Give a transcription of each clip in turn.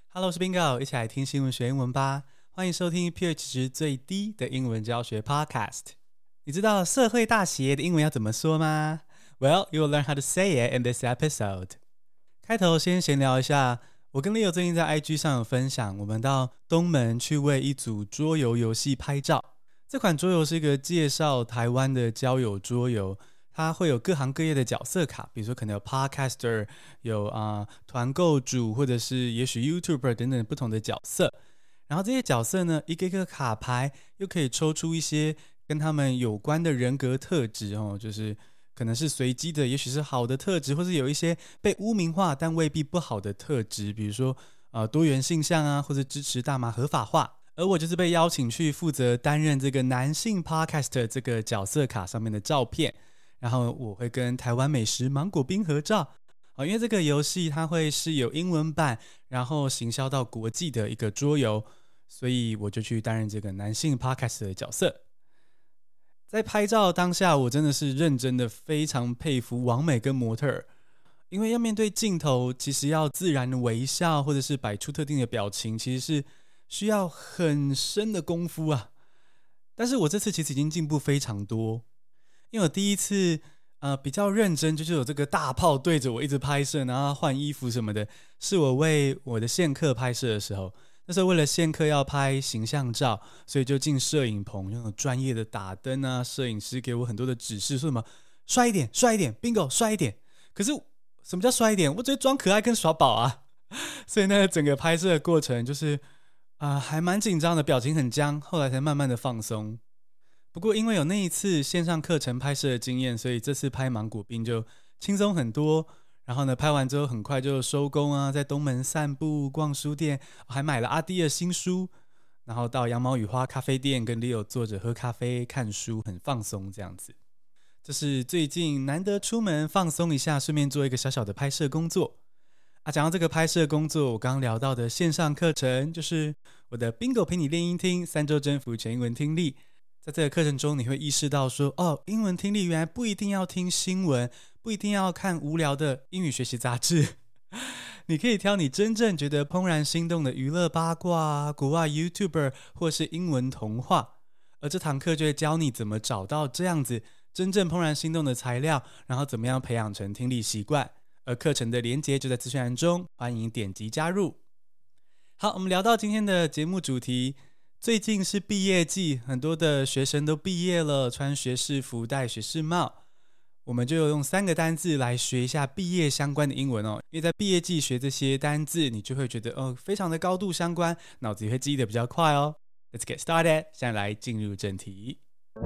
Hello， 我是 Bingo， 一起來聽新聞學英文吧。歡迎收聽 pH 值最低的英文教學 Podcast。你知道社會大企業的英文要怎麼說嗎？ Well, you will learn how to say it in this episode. 開頭先閒聊一下，我跟 Leo 最近在 IG 上有分享，我們到東門去為一組桌遊遊戲拍照。這款桌遊是一個介紹台灣的交友桌遊，它會有各行各業的角色卡，比如說可能有 Podcaster， 有團購主，或者是也許 YouTuber 等等不同的角色。然後這些角色呢，一個一個卡牌又可以抽出一些跟他們有關的人格特質哦，就是可能是隨機的，也許是好的特質，或是有一些被污名化但未必不好的特質，比如說多元性向啊，或者支持大麻合法化。而我就是被邀請去負責擔任這個男性 Podcaster 這個角色卡上面的照片。然後我會跟台灣美食芒果冰合照，因為這個遊戲它會是有英文版，然後行銷到國際的一個桌遊，所以我就去擔任這個男性 Podcaster 的角色。在拍照當下，我真的是認真的非常佩服網美跟模特兒，因為要面對鏡頭，其實要自然的微笑，或者是擺出特定的表情，其實是需要很深的功夫啊。但是我這次其實已經進步非常多。因為我第一次比較認真，就是有這個大炮對着我一直拍攝，然後換衣服什麼的，是我為我的線客拍攝的時候。那時候為了線客要拍形象照，所以就進攝影棚，用專業的打燈啊，攝影師給我很多的指示，說什麼帥一點，帥一點 ，Bingo 帥一點。可是什麼叫帥一點？我只會裝可愛跟耍寶啊。所以那個整個拍攝的過程就是還蠻緊張的，表情很僵，後來才慢慢的放鬆。不過因為有那一次線上課程拍攝的經驗，所以這次拍芒果冰就輕鬆很多。然後呢，拍完之後很快就收工啊，在東門散步、逛書店，還買了阿滴的新書。然後到羊毛與花咖啡店跟 Leo 坐着喝咖啡、看書，很放鬆這樣子。這是最近難得出門放鬆一下，順便做一個小小的拍攝工作。講到這個拍攝工作，我剛剛聊到的線上課程，就是我的 Bingo 陪你練英聽3週征服全英文聽力。在這個課程中，你會意識到說，英文聽力原來不一定要聽新聞，不一定要看無聊的英語學習雜誌，你可以挑你真正覺得怦然心動的娛樂八卦、國外 YouTuber 或是英文童話，而這堂課就會教你怎麼找到這樣子真正怦然心動的材料，然後怎麼樣培養成聽力習慣。而課程的連結就在資訊欄中，歡迎點擊加入。好，我們聊到今天的節目主題。最近是畢業季，很多的學生都畢業了，穿學士服，戴學士帽。我們就用3個單字來學一下畢業相關的英文哦。因為在畢業季學這些單字，你就會覺得非常的高度相關，腦子也會記得比較快哦。Let's get started， 現在來進入正題。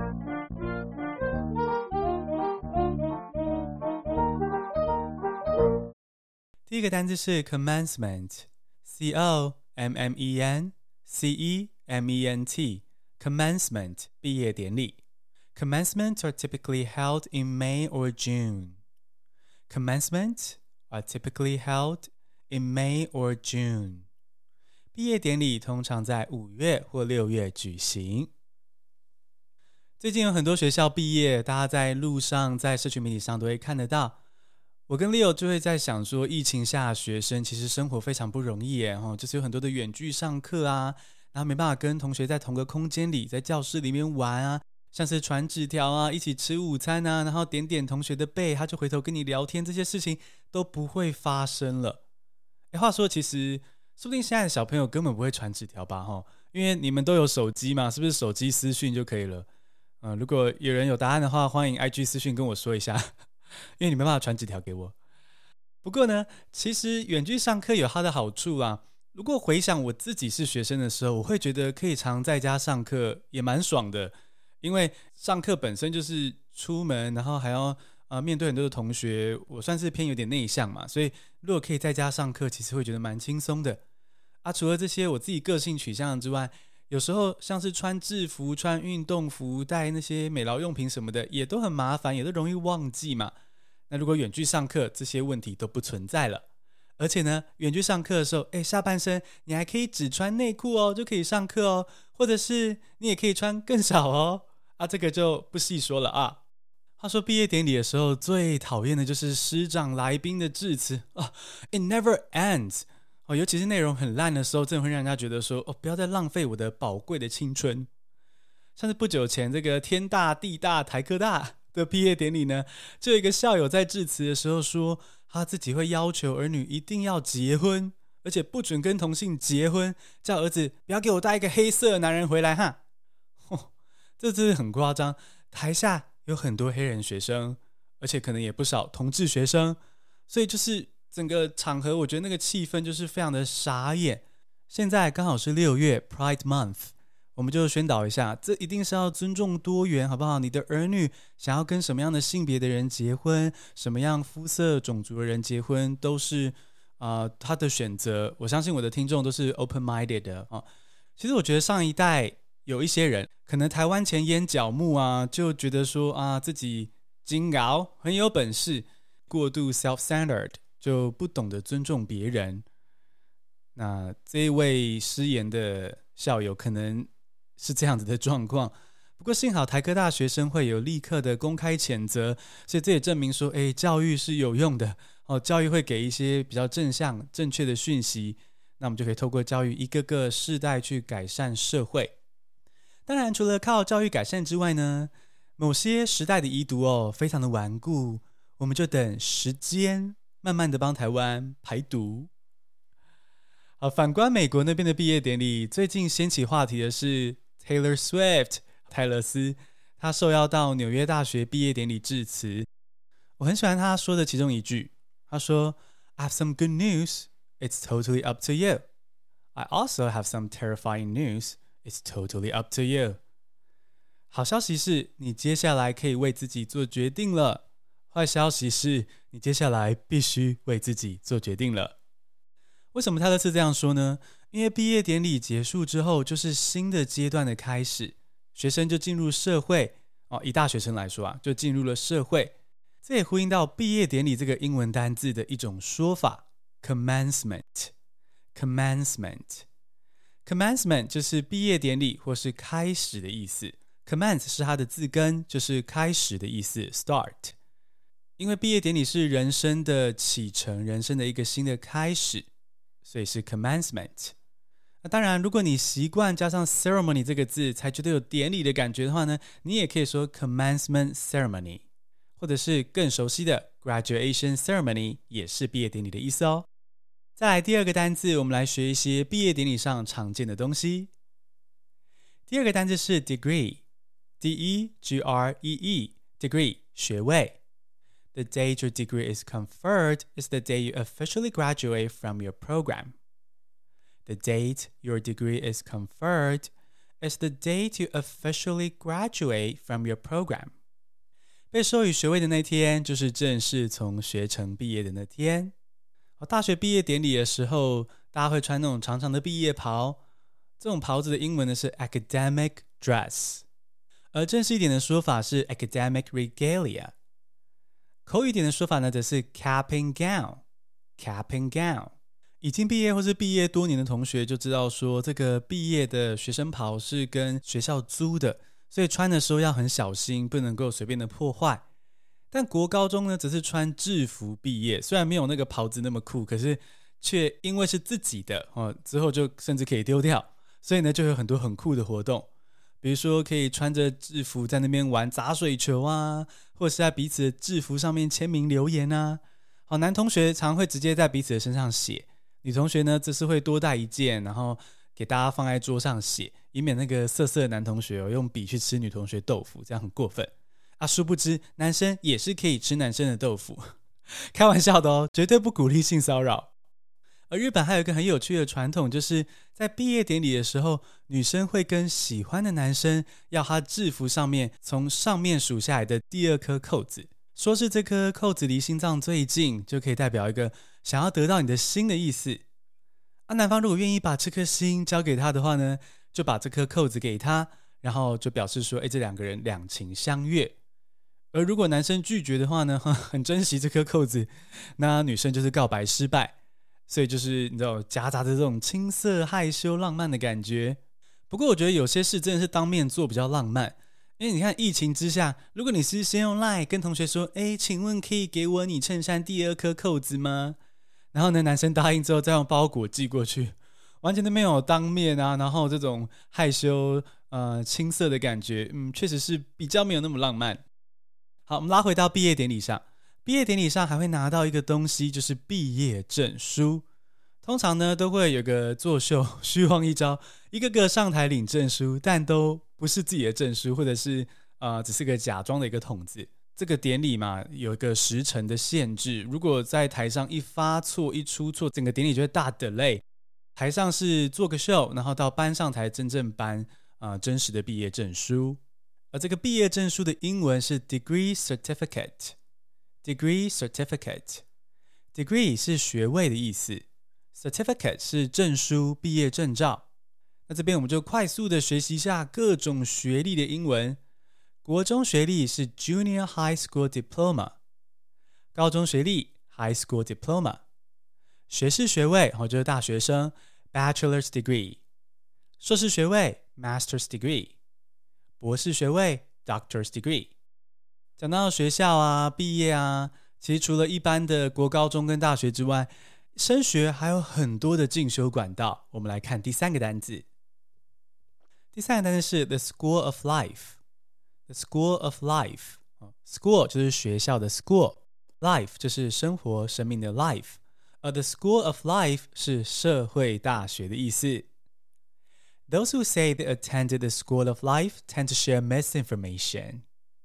第一個單字是 commencement，C-O-M-M-E-N-C-E-M-E-N-T Commencement 畢業典禮。Commencements are typically held in May or June. Commencements are typically held in May or June. 畢業典禮通常在5月或6月舉行。最近有很多學校畢業，大家在路上、在社群媒體上都會看得到。我跟 Leo 就會在想說，疫情下的學生其實生活非常不容易耶，就是有很多的遠距上課啊，然後沒辦法跟同學在同個空間裡，在教室裡面玩啊，像是傳紙條啊，一起吃午餐啊，然後點點同學的背，他就回頭跟你聊天，這些事情都不會發生了。話說其實說不定現在的小朋友根本不會傳紙條吧，因為你們都有手機嘛，是不是手機私訊就可以了？如果有人有答案的話，歡迎 IG 私訊跟我說一下。因為你沒辦法傳紙條給我。不過呢，其實遠距上課有它的好處啊。如果回想我自己是學生的時候，我會覺得可以常在家上課也蠻爽的。因為上課本身就是出門，然後還要面對很多的同學，我算是偏有點內向嘛，所以如果可以在家上課，其實會覺得蠻輕鬆的。除了這些我自己個性取向之外，有時候像是穿制服、穿運動服、帶那些美勞用品什麼的，也都很麻煩，也都容易忘記嘛。那如果遠距上課，這些問題都不存在了。而且呢，遠距上課的時候，下半身你還可以只穿內褲哦，就可以上課哦。或者是你也可以穿更少哦。這個就不細說了啊。話說畢業典禮的時候，最討厭的就是師長來賓的致辭啊，It never ends。 尤其是內容很爛的時候，真的會讓人家覺得說，不要再浪費我的寶貴的青春。像是不久前這個天大地大台科大的畢業典禮呢，就有一個校友在致辭的時候說，他自己會要求兒女一定要結婚，而且不准跟同性結婚，叫兒子不要給我帶一個黑色的男人回來哈。這真的很誇張。台下有很多黑人學生，而且可能也不少同志學生，所以就是整個場合，我覺得那個氣氛就是非常的傻眼。現在剛好是6月 Pride Month， 我們就宣導一下，這一定是要尊重多元，好不好？你的兒女想要跟什麼樣的性別的人結婚，什麼樣膚色種族的人結婚，都是他的選擇。我相信我的聽眾都是 open-minded 的啊。其實我覺得上一代有一些人可能台灣前煙角木啊，就覺得說自己金高很有本事，過度 self-centered， 就不懂得尊重別人。那這一位失言的校友可能是這樣子的狀況，不過幸好台科大學生會有立刻的公開譴責，所以這也證明說，教育是有用的教育會給一些比較正向正確的訊息，那我們就可以透過教育一個個世代去改善社會。當然除了靠教育改善之外呢，某些時代的遺毒非常的頑固，我們就等時間慢慢的幫台灣排毒。好，反觀美國那邊的畢業典禮，最近掀起話題的是 Taylor Swift 泰勒絲，他受邀到紐約大學畢業典禮致辭。我很喜歡他說的其中一句，他說 I have some good news, it's totally up to you. I also have some terrifying news, it's totally up to you. 好消息是你接下來可以為自己做決定了，壞消息是你接下來必須為自己做決定了。為什麼泰勒絲這樣說呢？因為畢業典禮結束之後就是新的階段的開始，學生就進入社會以大學生來說就進入了社會。這也呼應到畢業典禮這個英文單字的一種說法 commencement。 Commencement 就是畢業典禮或是開始的意思， commence 是它的字根，就是開始的意思 start。 因為畢業典禮是人生的啟程，人生的一個新的開始，所以是 commencement。 那當然如果你習慣加上 ceremony 這個字才覺得有典禮的感覺的話呢，你也可以說 commencement ceremony， 或者是更熟悉的 graduation ceremony， 也是畢業典禮的意思哦。再來第二個單字，我們來學一些畢業典禮上常見的東西。第二個單字是 degree， D-E-G-R-E-E， degree 學位。The date your degree is conferred is the day you officially graduate from your program. The date your degree is conferred is the date you officially graduate from your program. 被授予學位的那天，就是正式從學程畢業的那天。大學畢業典禮的時候，大家會穿那種長長的畢業袍，這種袍子的英文呢是 academic dress， 而正式一點的說法是 academic regalia。口語一點的說法呢，則是 cap and gown。cap and gown， 已經畢業或是畢業多年的同學就知道說，這個畢業的學生袍是跟學校租的，所以穿的時候要很小心，不能夠隨便的破壞。但國高中呢，則是穿制服畢業，雖然沒有那個袍子那麼酷，可是卻因為是自己的之後就甚至可以丟掉，所以呢，就有很多很酷的活動。比如說可以穿着制服在那邊玩砸水球啊，或者是在彼此的制服上面簽名留言啊。男同學常會直接在彼此的身上寫，女同學呢則是會多帶一件，然後給大家放在桌上寫，以免那個色色的男同學用筆去吃女同學豆腐，這樣很過分啊。殊不知男生也是可以吃男生的豆腐，開玩笑的哦，絕對不鼓勵性騷擾。而日本還有一個很有趣的傳統，就是在畢業典禮的時候，女生會跟喜歡的男生要他制服上面從上面數下來的第二顆扣子，說是這顆扣子離心臟最近，就可以代表一個想要得到你的心的意思。男方如果願意把這顆心交給他的話呢，就把這顆扣子給他，然後就表示說這兩個人兩情相悅。而如果男生拒絕的話呢，很珍惜這顆扣子，那女生就是告白失敗。所以就是你知道夾雜着這種青澀害羞浪漫的感覺。不過我覺得有些事真的是當面做比較浪漫，因為你看疫情之下，如果你是先用 LINE 跟同學說請問可以給我你襯衫第二顆扣子嗎？ 然後呢，男生答應之後再用包裹寄過去，完全都沒有當面啊，然後這種害羞青澀的感覺，確實是比較沒有那麼浪漫。好，我們拉回到畢業典禮上，畢業典禮上還會拿到一個東西，就是畢業證書。通常呢，都會有個作秀，虛晃一招，一個個上台領證書，但都不是自己的證書，或者是只是個假裝的一個筒子。這個典禮嘛，有一個時程的限制，如果在台上一發錯、一出錯，整個典禮就會大 delay。台上是做個秀，然後到搬上台真正頒真實的畢業證書。而這個畢業證書的英文是 degree certificate。degree certificate。degree 是學位的意思。Certificate 是證書、畢業證照。那這邊我們就快速的學習一下各種學歷的英文。國中學歷是 Junior High School Diploma， 高中學歷 High School Diploma， 學士學位就是大學生 Bachelor's Degree， 碩士學位 Master's Degree， 博士學位 Doctor's Degree。 講到學校啊、畢業啊，其實除了一般的國高中跟大學之外，升學還有很多的進修管道。我們來看第三個單字。第三個單字是 The School of Life。The School of Life。School 就是學校的 School，Life 就是生活、生命的 Life， 而 The School of Life 是社會大學的意思。Those who say they attended the School of Life tend to share misinformation.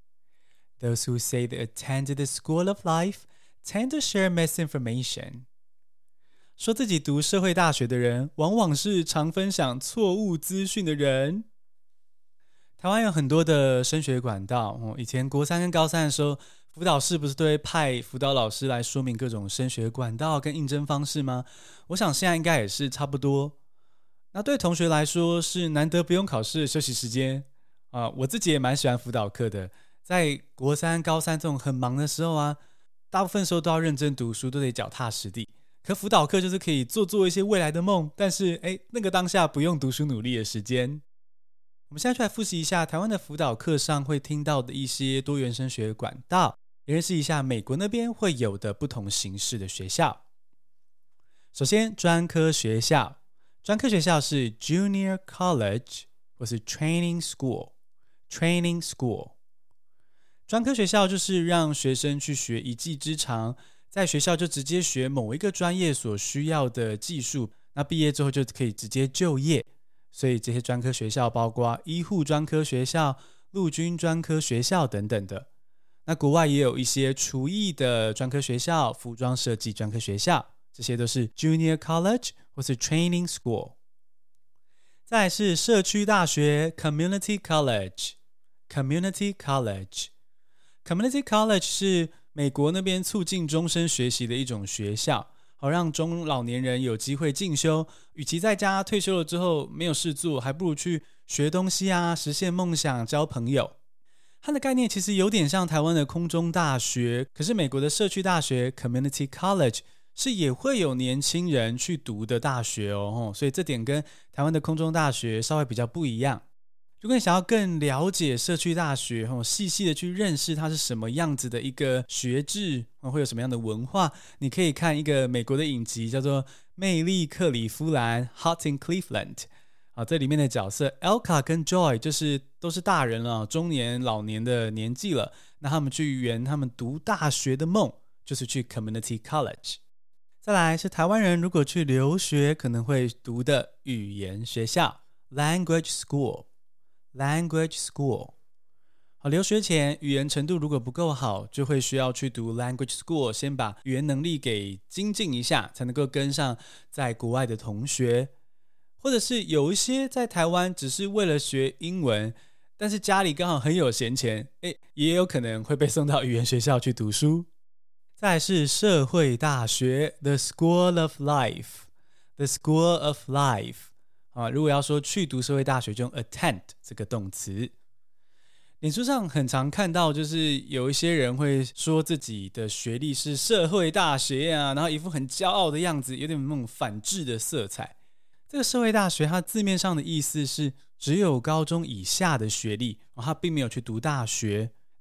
Those who say they attended the School of Life tend to share misinformation. 說自己讀社會大學的人，往往是常分享錯誤資訊的人。台灣有很多的升學管道，以前國三跟高三的時候，輔導室不是都會派輔導老師來說明各種升學管道跟應徵方式嗎？我想現在應該也是差不多。那對同學來說是難得不用考試的休息時間我自己也蠻喜歡輔導課的。在國三、高三這種很忙的時候啊，大部分時候都要認真讀書，都得腳踏實地。可輔導課就是可以做一些未來的夢，但是那個當下不用讀書努力的時間。我們現在就來複習一下台灣的輔導課上會聽到的一些多元升學管道，也認識一下美國那邊會有的不同形式的學校。首先，專科學校，專科學校是 Junior College 或是 Training School。Training School， 專科學校就是讓學生去學一技之長，在學校就直接學某一個專業所需要的技術，那畢業之後就可以直接就業。所以這些專科學校包括醫護專科學校、陸軍專科學校等等的。那國外也有一些廚藝的專科學校、服裝設計專科學校，這些都是 Junior College 或是 Training School。再來是社區大學 Community College。Community College。Community College 是美國那邊促進終身學習的一種學校，好讓中老年人有機會進修，與其在家退休了之後沒有事做，還不如去學東西啊，實現夢想，交朋友。它的概念其實有點像台灣的空中大學，可是美國的社區大學 Community College 是也會有年輕人去讀的大學哦，所以這點跟台灣的空中大學稍微比較不一樣。如果你想要更了解社區大學，細細的去認識它是什麼樣子的一個學制，會有什麼樣的文化，你可以看一個美國的影集叫做《魅力克里夫蘭》Hot in Cleveland。這裡面的角色 Elka 跟 Joy 都是大人了，中年老年的年紀了，那他們去圓他們讀大學的夢，就是去 Community College。再來是台灣人如果去留學可能會讀的語言學校 Language School。Language School。 留學前語言程度如果不夠好，就會需要去讀 Language School， 先把語言能力給精進一下，才能夠跟上在國外的同學。或者是有一些在台灣只是為了學英文，但是家裡剛好很有閒錢，也有可能會被送到語言學校去讀書。再來是社會大學 The School of Life。The School of Life。如果要說去讀社會大學，就用 attend 這個動詞。臉書上很常看到，就是有一些人會說自己的學歷是社會大學啊，然後一副很驕傲的樣子，有點那種反智的色彩。這個社會大學它字面上的意思是只有高中以下的學歷，它並沒有去讀大學。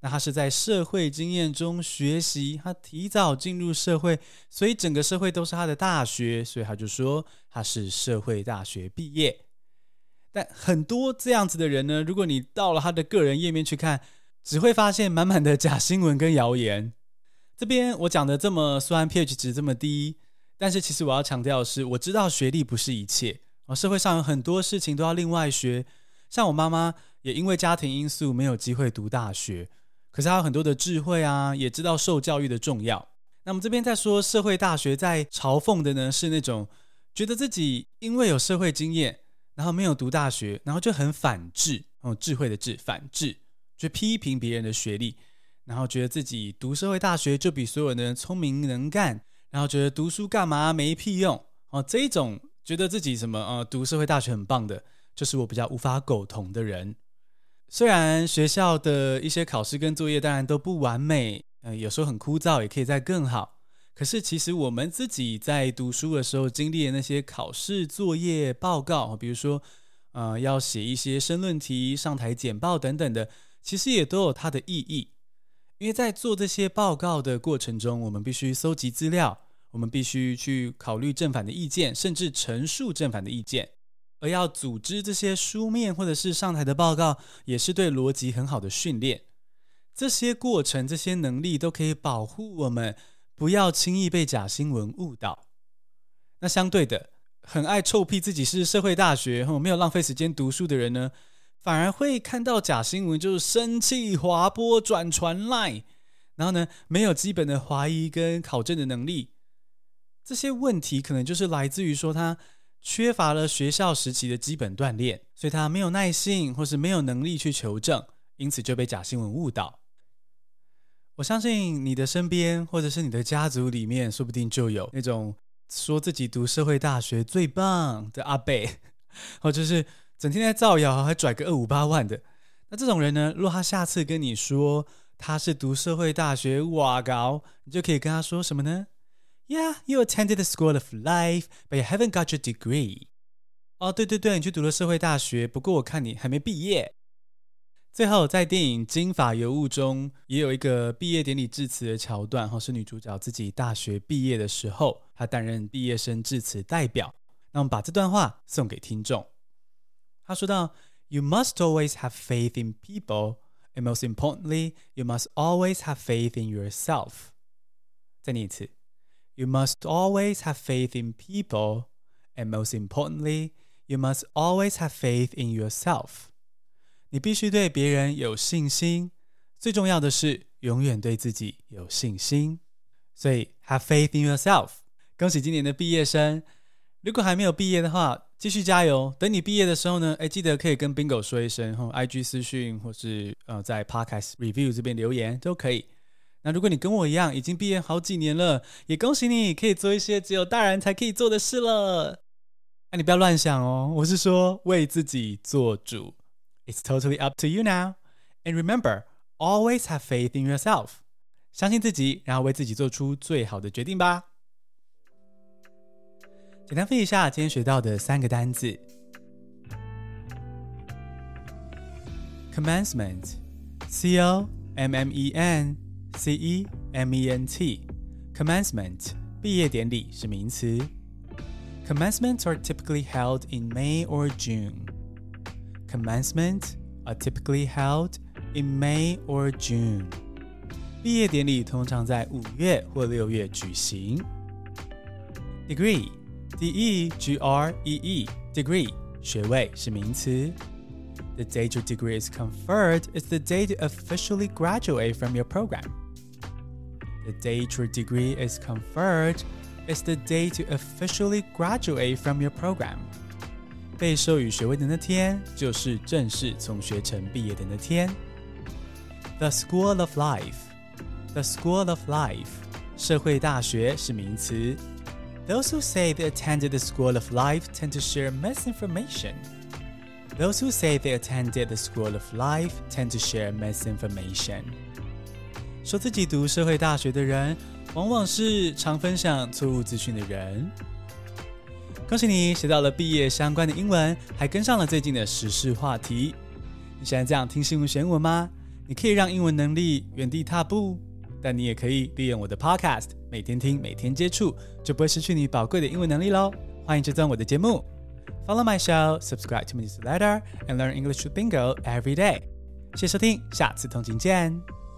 那他是在社會經驗中學習，他提早進入社會，所以整個社會都是他的大學，所以他就說他是社會大學畢業。但很多這樣子的人呢，如果你到了他的個人頁面去看，只會發現滿滿的假新聞跟謠言。這邊我講的這麼酸，pH 值這麼低，但是其實我要強調的是，我知道學歷不是一切，社會上有很多事情都要另外學。像我媽媽也因為家庭因素沒有機會讀大學，可是她有很多的智慧啊，也知道受教育的重要。那麼這邊在說社會大學，在嘲諷的呢是那種覺得自己因為有社會經驗，然後沒有讀大學，然後就很反智，智慧的智，反智，就批評別人的學歷，然後覺得自己讀社會大學就比所有人聰明能幹，然後覺得讀書幹嘛沒屁用，這一種覺得自己什麼讀社會大學很棒的，就是我比較無法苟同的人。雖然學校的一些考試跟作業當然都不完美，有時候很枯燥，也可以再更好。可是其實我們自己在讀書的時候經歷的那些考試、作業、報告，比如說要寫一些申論題、上台簡報等等的，其實也都有它的意義。因為在做這些報告的過程中，我們必須搜集資料，我們必須去考慮正反的意見，甚至陳述正反的意見。而要組織這些書面或者是上台的報告，也是對邏輯很好的訓練。這些過程、這些能力都可以保護我們，不要輕易被假新聞誤導。那相對的，很愛臭屁自己是社會大學，沒有浪費時間讀書的人呢，反而會看到假新聞就是生氣、滑播、轉傳 LINE， 然後呢，沒有基本的懷疑跟考證的能力。這些問題可能就是來自於說他缺乏了學校時期的基本鍛鍊，所以他沒有耐性或是沒有能力去求證，因此就被假新聞誤導。我相信你的身邊或者是你的家族裡面，說不定就有那種說自己讀社會大學最棒的阿伯，或者是整天在造謠還拽個258萬的。那這種人呢，如果他下次跟你說他是讀社會大學，哇搞，你就可以跟他說什麼呢？Yeah, you attended the school of life, but you haven't got your degree. 對，你去讀了社會大學，不過我看你還沒畢業。最後，在電影《金髮尤物》中，也有一個畢業典禮致辭的橋段，是女主角自己大學畢業的時候，她擔任畢業生致辭代表。那我們把這段話送給聽眾。她說到 You must always have faith in people, and most importantly, you must always have faith in yourself. 再念一次。You must always have faith in people, and most importantly, you must always have faith in yourself. 你必須對別人有信心，最重要的是永遠對自己有信心。所以 have faith in yourself。恭喜今年的畢業生，如果還沒有畢業的話，繼續加油。等你畢業的時候呢，記得可以跟 Bingo 說一聲，IG 私訊或是在 Podcast Review 這邊留言都可以。那如果你跟我一樣已經畢業好幾年了，也恭喜你可以做一些只有大人才可以做的事了。你不要亂想哦，我是說為自己做主。It's totally up to you now. And remember, always have faith in yourself. 相信自己，然後為自己做出最好的決定吧。簡單複習一下今天學到的3個單字。Commencement, C-O-M-M-E-N-C-E-M-E-N-T, Commencement, 畢業典禮是名詞。Commencements are typically held in May or June. Commencements are typically held in May or June. 畢業典禮通常在5月或6月舉行。Degree, D-E-G-R-E-E, degree, 學位是名詞。The date your degree is conferred is the date you officially graduate from your program. The date your degree is conferred is the date you officially graduate from your program. 被授予學位的那天，就是正式從學程畢業的那天。The School of Life, the School of Life, 社會大學是名詞。Those who say they attended the School of Life tend to share misinformation.Those who say they attended the School of Life tend to share misinformation. 說自己讀社會大學的人，往往是常分享錯誤資訊的人。恭喜你學到了畢業相關的英文，還跟上了最近的時事話題。你喜歡這樣聽新聞學英文嗎？ 你可以讓英文能力原地踏步，但你也可以利用我的 podcast， 每天聽，每天接觸，就不會失去你寶貴的英文能力咯。歡迎追蹤我的節目 ，Follow my show, subscribe to my newsletter, and learn English with Bingo every day。謝謝收聽，下次通勤見。